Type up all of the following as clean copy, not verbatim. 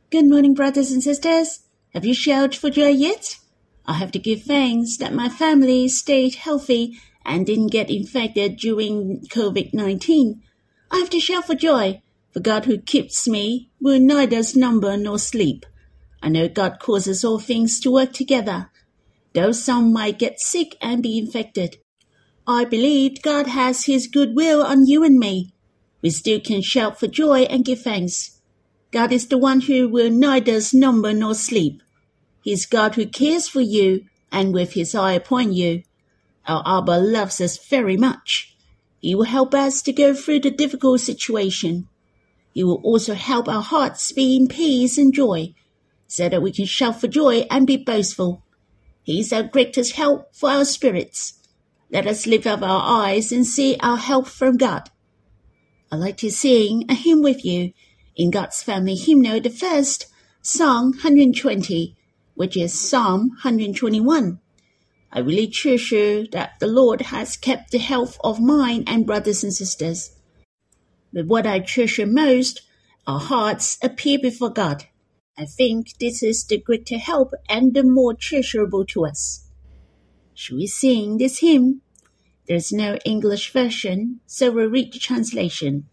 Good morning, brothers and sisters. Have you shouted for joy yet? I have to give thanks that my family stayed healthy and didn't get infected during COVID-19. I have to shout for joy, for God who keeps me will neither slumber nor sleep. I know God causes all things to work together, though some might get sick and be infected. I believe God has His goodwill on you and me. We still can shout for joy and give thanks. God is the one who will neither slumber nor sleep. He is God who cares for you and with His eye upon you. Our Abba loves us very much. He will help us to go through the difficult situation. He will also help our hearts be in peace and joy, so that we can shout for joy and be boastful. He is our greatest help for our spirits. Let us lift up our eyes and see our help from God. I'd like to sing a hymn with you in God's Family Hymnal, the first, Song 120, which is Psalm 121. I really treasure that the Lord has kept the health of mine and brothers and sisters. But what I treasure most, our hearts appear before God. I think this is the greater help and the more treasurable to us. Shall we sing this hymn? There's no English version, so we'll read the translation.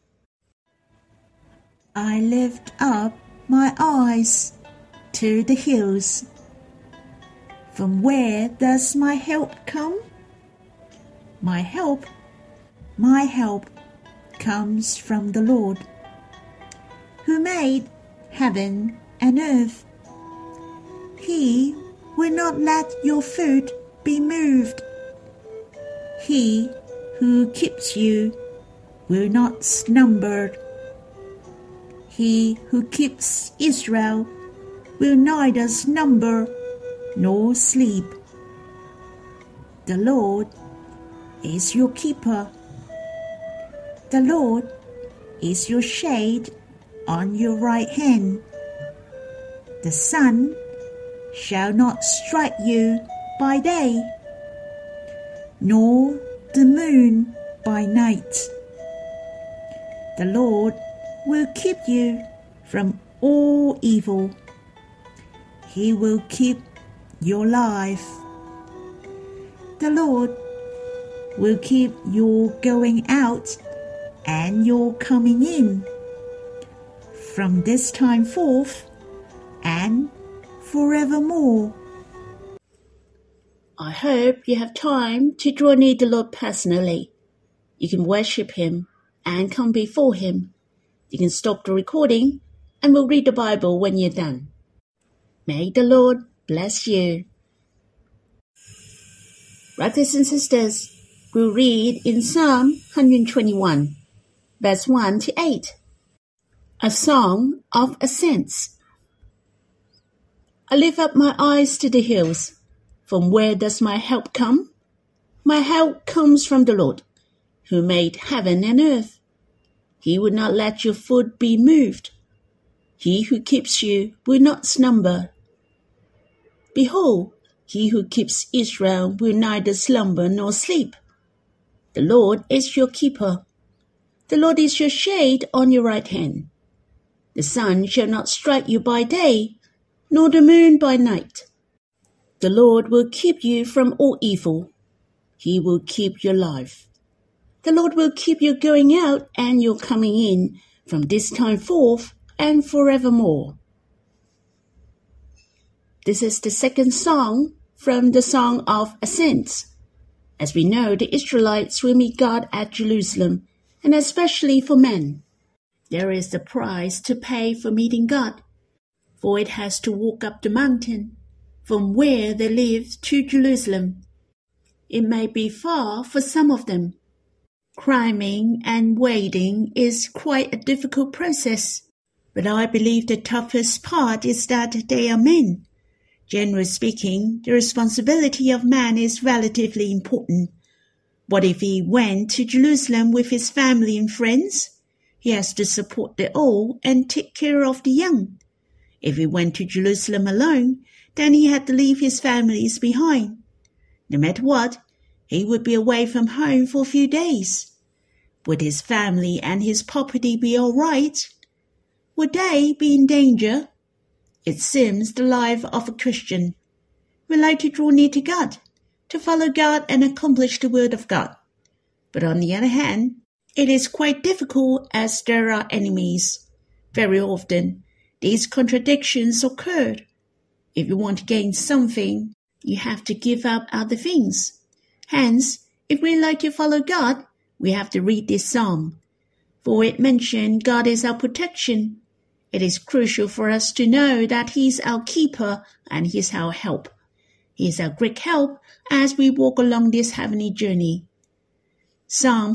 I lift up my eyes to the hills. From where does my help come? My help comes from the Lord, who made heaven and earth. He will not let your foot be moved. He who keeps you will not slumber. He who keeps Israel will neither slumber nor sleep. The Lord is your keeper. The Lord is your shade on your right hand. The sun shall not strike you by day, nor the moon by night. The Lord will keep you from all evil. He will keep your life. The Lord will keep your going out and your coming in from this time forth and forevermore. I hope you have time to draw near the Lord personally. You can worship Him and come before Him. You can stop the recording and we'll read the Bible when you're done. May the Lord bless you. Brothers and sisters, we'll read in Psalm 121, verse 1 to 8. A song of ascents. I lift up my eyes to the hills. From where does my help come? My help comes from the Lord, who made heaven and earth. He will not let your foot be moved. He who keeps you will not slumber. Behold, he who keeps Israel will neither slumber nor sleep. The Lord is your keeper. The Lord is your shade on your right hand. The sun shall not strike you by day, nor the moon by night. The Lord will keep you from all evil. He will keep your life. The Lord will keep you going out and your coming in from this time forth and forevermore. This is the second song from the Song of Ascents. As we know, the Israelites will meet God at Jerusalem, and especially for men. There is a price to pay for meeting God, for it has to walk up the mountain from where they live to Jerusalem. It may be far for some of them. Climbing and wading is quite a difficult process, but I believe the toughest part is that they are men. Generally speaking, the responsibility of man is relatively important. What if he went to Jerusalem with his family and friends? He has to support the old and take care of the young. If he went to Jerusalem alone, then he had to leave his families behind. No matter what, he would be away from home for a few days. Would his family and his property be all right? Would they be in danger? It seems the life of a Christian. We like to draw near to God, to follow God and accomplish the word of God. But on the other hand, it is quite difficult as there are enemies. Very often, these contradictions occur. If you want to gain something, you have to give up other things. Hence, if we like to follow God, we have to read this psalm. For it mentioned God is our protection. It is crucial for us to know that He is our keeper and He is our help. He is our great help as we walk along this heavenly journey. Psalm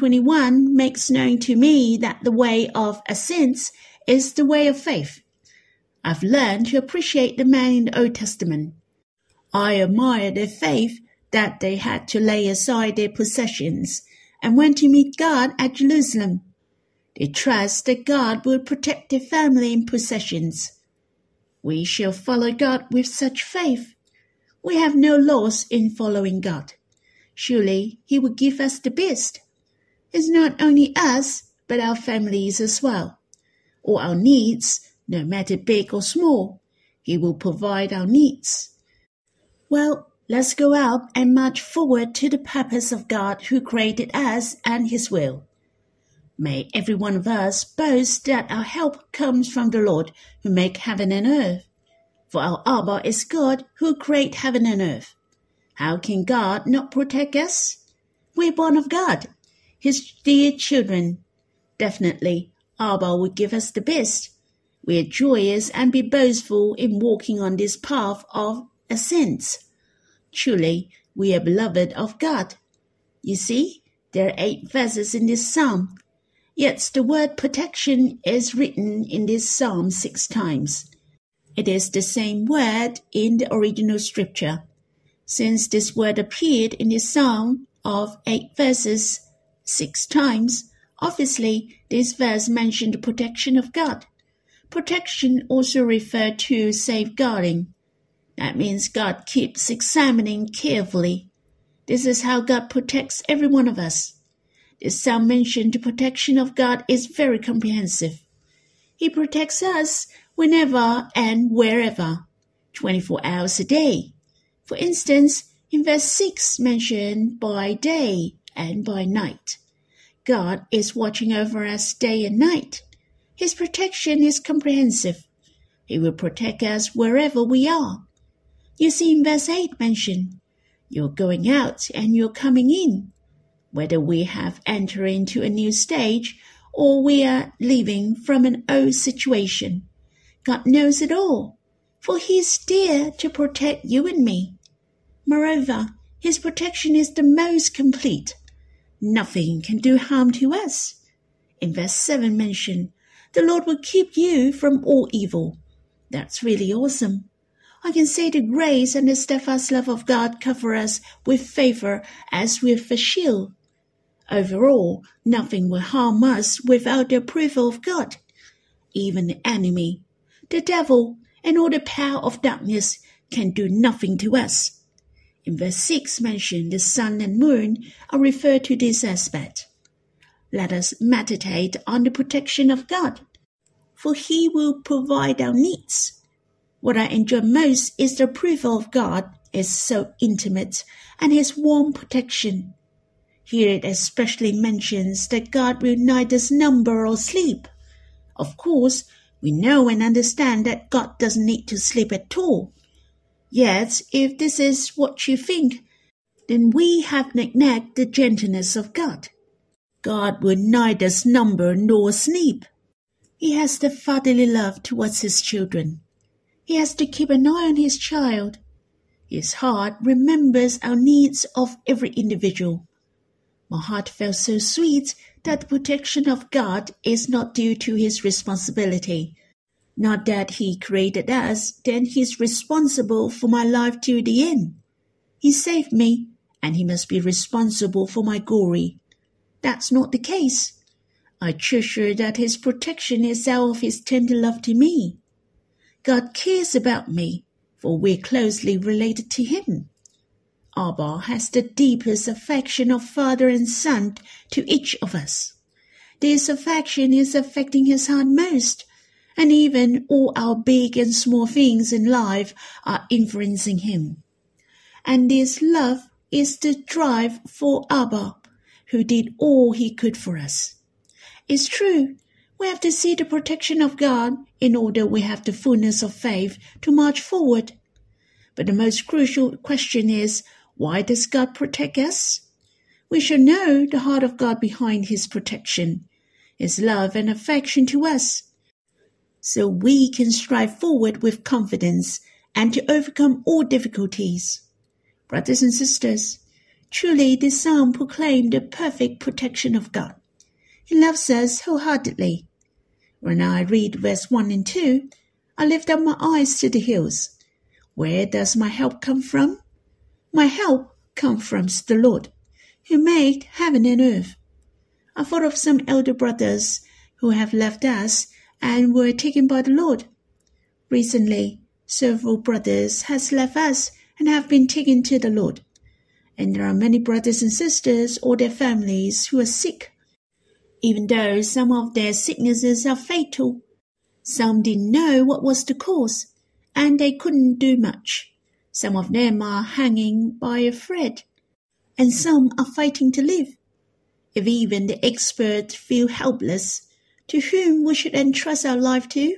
121 makes known to me that the way of ascents is the way of faith. I've learned to appreciate the men in the Old Testament. I admire their faith that they had to lay aside their possessions and went to meet God at Jerusalem. They trust that God will protect their family and possessions. We shall follow God with such faith. We have no loss in following God. Surely He will give us the best. It's not only us, but our families as well. All our needs, no matter big or small, He will provide our needs. Well, let's go out and march forward to the purpose of God who created us and His will. May every one of us boast that our help comes from the Lord who made heaven and earth. For our Abba is God who created heaven and earth. How can God not protect us? We're born of God, His dear children. Definitely, Abba will give us the best. We are joyous and be boastful in walking on this path of ascents. Truly, we are beloved of God. You see, there are 8 verses in this psalm. Yet the word protection is written in this psalm 6 times. It is the same word in the original scripture. Since this word appeared in this psalm of 8 verses 6 times, obviously this verse mentioned the protection of God. Protection also referred to safeguarding. That means God keeps examining carefully. This is how God protects every one of us. This psalm mentioned the protection of God is very comprehensive. He protects us whenever and wherever, 24 hours a day. For instance, in verse 6 mentioned by day and by night. God is watching over us day and night. His protection is comprehensive. He will protect us wherever we are. You see in verse 8 mentioned, you're going out and you're coming in. Whether we have entered into a new stage or we are leaving from an old situation, God knows it all, for He is there to protect you and me. Moreover, His protection is the most complete. Nothing can do harm to us. In verse 7 mentioned, the Lord will keep you from all evil. That's really awesome. I can say the grace and the steadfast love of God cover us with favor as with a shield. Overall, nothing will harm us without the approval of God. Even the enemy, the devil, and all the power of darkness can do nothing to us. In verse 6 mentioned the sun and moon are referred to this aspect. Let us meditate on the protection of God, for He will provide our needs. What I enjoy most is the approval of God is so intimate and His warm protection. Here it especially mentions that God will neither slumber or sleep. Of course, we know and understand that God doesn't need to sleep at all. Yet, if this is what you think, then we have neglected the gentleness of God. God will neither slumber nor sleep. He has the fatherly love towards His children. He has to keep an eye on His child. His heart remembers our needs of every individual. My heart felt so sweet that the protection of God is not due to His responsibility. Not that He created us, then He is responsible for my life to the end. He saved me, and He must be responsible for my glory. That's not the case. I treasure that His protection is out of His tender love to me. God cares about me, for we're closely related to Him. Abba has the deepest affection of father and son to each of us. This affection is affecting His heart most, and even all our big and small things in life are influencing him. And this love is the drive for Abba, who did all he could for us. It's true, we have to see the protection of God in order we have the fullness of faith to march forward. But the most crucial question is, why does God protect us? We should know the heart of God behind his protection, his love and affection to us, so we can strive forward with confidence and to overcome all difficulties. Brothers and sisters, truly this psalm proclaims the perfect protection of God. He loves us wholeheartedly. When I read verse 1 and 2, I lift up my eyes to the hills. Where does my help come from? My help comes from the Lord, who made heaven and earth. I thought of some elder brothers who have left us and were taken by the Lord. Recently, several brothers has left us and have been taken to the Lord. And there are many brothers and sisters or their families who are sick. Even though some of their sicknesses are fatal, some didn't know what was the cause, and they couldn't do much. Some of them are hanging by a thread, and some are fighting to live. If even the experts feel helpless, to whom we should entrust our life to?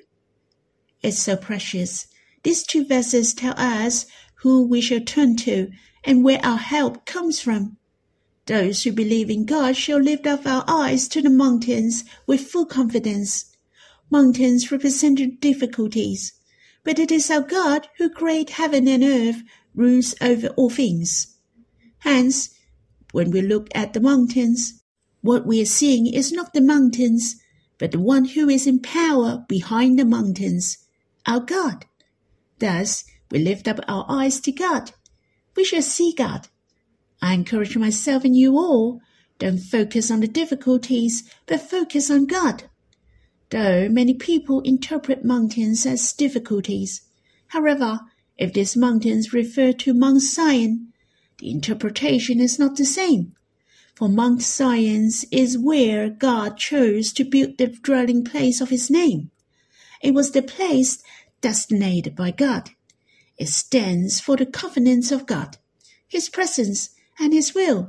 It's so precious. These two verses tell us who we shall turn to and where our help comes from. Those who believe in God shall lift up our eyes to the mountains with full confidence. Mountains represent difficulties, but it is our God who created heaven and earth, rules over all things. Hence, when we look at the mountains, what we are seeing is not the mountains, but the one who is in power behind the mountains, our God. Thus, we lift up our eyes to God. We shall see God. I encourage myself and you all, don't focus on the difficulties, but focus on God. Though many people interpret mountains as difficulties, however, if these mountains refer to Mount Zion, the interpretation is not the same. For Mount Zion is where God chose to build the dwelling place of his name. It was the place designated by God. It stands for the covenants of God, his presence, and his will.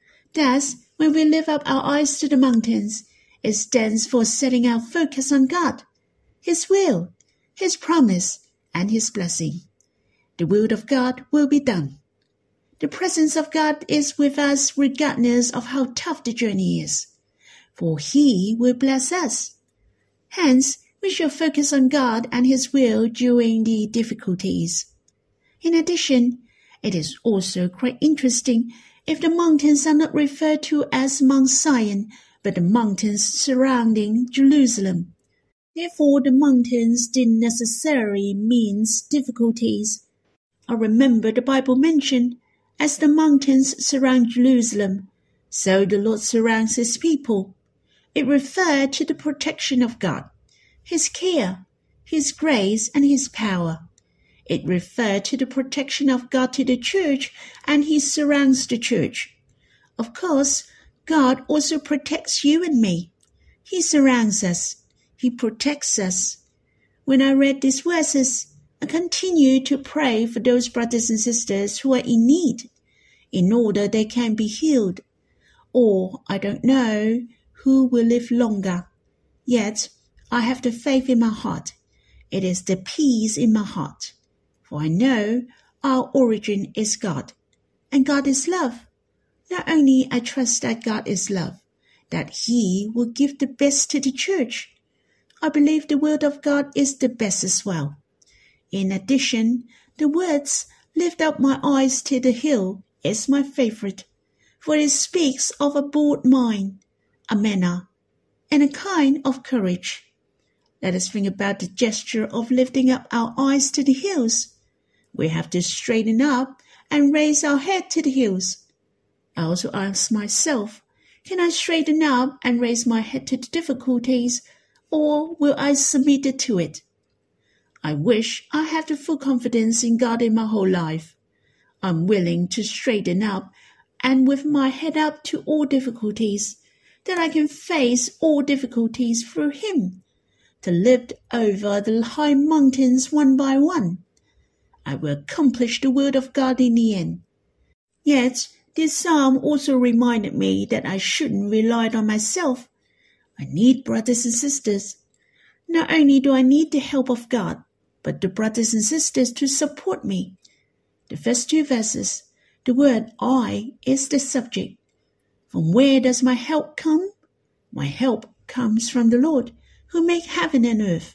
Thus, when we lift up our eyes to the mountains, it stands for setting our focus on God, his will, his promise, and his blessing. The will of God will be done. The presence of God is with us regardless of how tough the journey is, for he will bless us. Hence, we shall focus on God and his will during the difficulties. In addition, it is also quite interesting if the mountains are not referred to as Mount Zion, but the mountains surrounding Jerusalem. Therefore, the mountains didn't necessarily mean difficulties. I remember the Bible mentioned, as the mountains surround Jerusalem, so the Lord surrounds his people. It referred to the protection of God, his care, his grace, and his power. It referred to the protection of God to the church, and he surrounds the church. Of course, God also protects you and me. He surrounds us. He protects us. When I read these verses, I continue to pray for those brothers and sisters who are in need, in order they can be healed. Or, I don't know who will live longer. Yet, I have the faith in my heart. It is the peace in my heart. For I know our origin is God, and God is love. Not only I trust that God is love, that he will give the best to the church. I believe the word of God is the best as well. In addition, the words, lift up my eyes to the hill, is my favorite, for it speaks of a bold mind, a manner, and a kind of courage. Let us think about the gesture of lifting up our eyes to the hills. We have to straighten up and raise our head to the hills. I also ask myself, can I straighten up and raise my head to the difficulties, or will I submit to it? I wish I had the full confidence in God in my whole life. I'm willing to straighten up and with my head up to all difficulties, that I can face all difficulties through him, to lift over the high mountains one by one. I will accomplish the word of God in the end. Yet, this psalm also reminded me that I shouldn't rely on myself. I need brothers and sisters. Not only do I need the help of God, but the brothers and sisters to support me. The first two verses, the word I is the subject. From where does my help come? My help comes from the Lord, who made heaven and earth.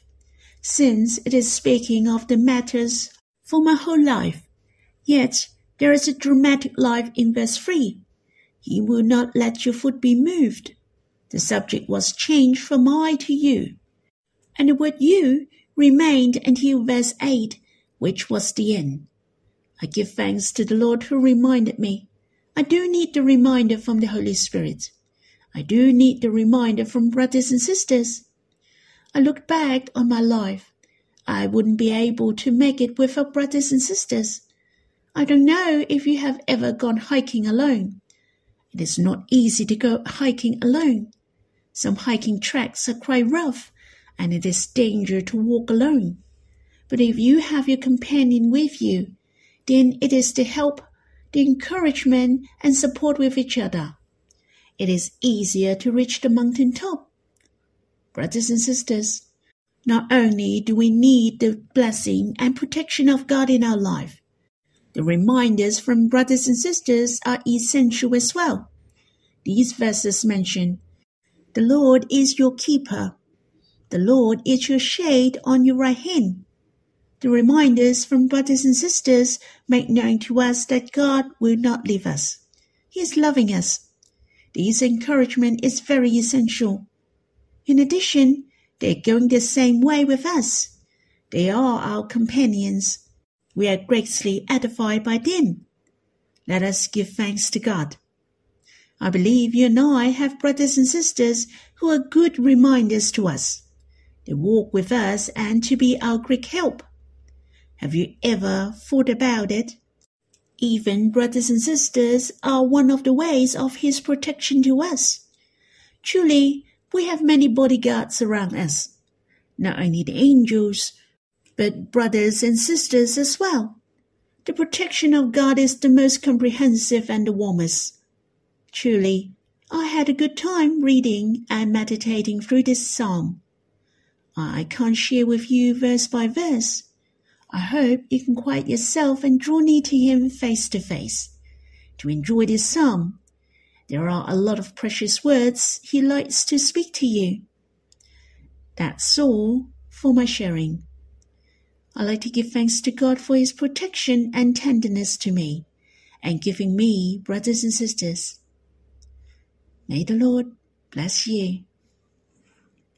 Since it is speaking of the matters for my whole life, yet there is a dramatic life in verse 3. He will not let your foot be moved. The subject was changed from I to you. And the word you remained until verse 8, which was the end. I give thanks to the Lord who reminded me. I do need the reminder from the Holy Spirit. I do need the reminder from brothers and sisters. I look back on my life. I wouldn't be able to make it without brothers and sisters. I don't know if you have ever gone hiking alone. It is not easy to go hiking alone. Some hiking tracks are quite rough, and it is dangerous to walk alone. But if you have your companion with you, then it is the help, the encouragement, and support with each other. It is easier to reach the mountain top. Brothers and sisters, not only do we need the blessing and protection of God in our life, the reminders from brothers and sisters are essential as well. These verses mention, the Lord is your keeper. The Lord is your shade on your right hand. The reminders from brothers and sisters make known to us that God will not leave us. He is loving us. This encouragement is very essential. In addition, they are going the same way with us. They are our companions. We are greatly edified by them. Let us give thanks to God. I believe you and I have brothers and sisters who are good reminders to us. They walk with us and to be our great help. Have you ever thought about it? Even brothers and sisters are one of the ways of His protection to us. Truly, we have many bodyguards around us. Not only the angels, but brothers and sisters as well. The protection of God is the most comprehensive and the warmest. Truly, I had a good time reading and meditating through this psalm. I can't share with you verse by verse. I hope you can quiet yourself and draw near to Him face to face to enjoy this psalm. There are a lot of precious words He likes to speak to you. That's all for my sharing. I like to give thanks to God for His protection and tenderness to me and giving me brothers and sisters. May the Lord bless you.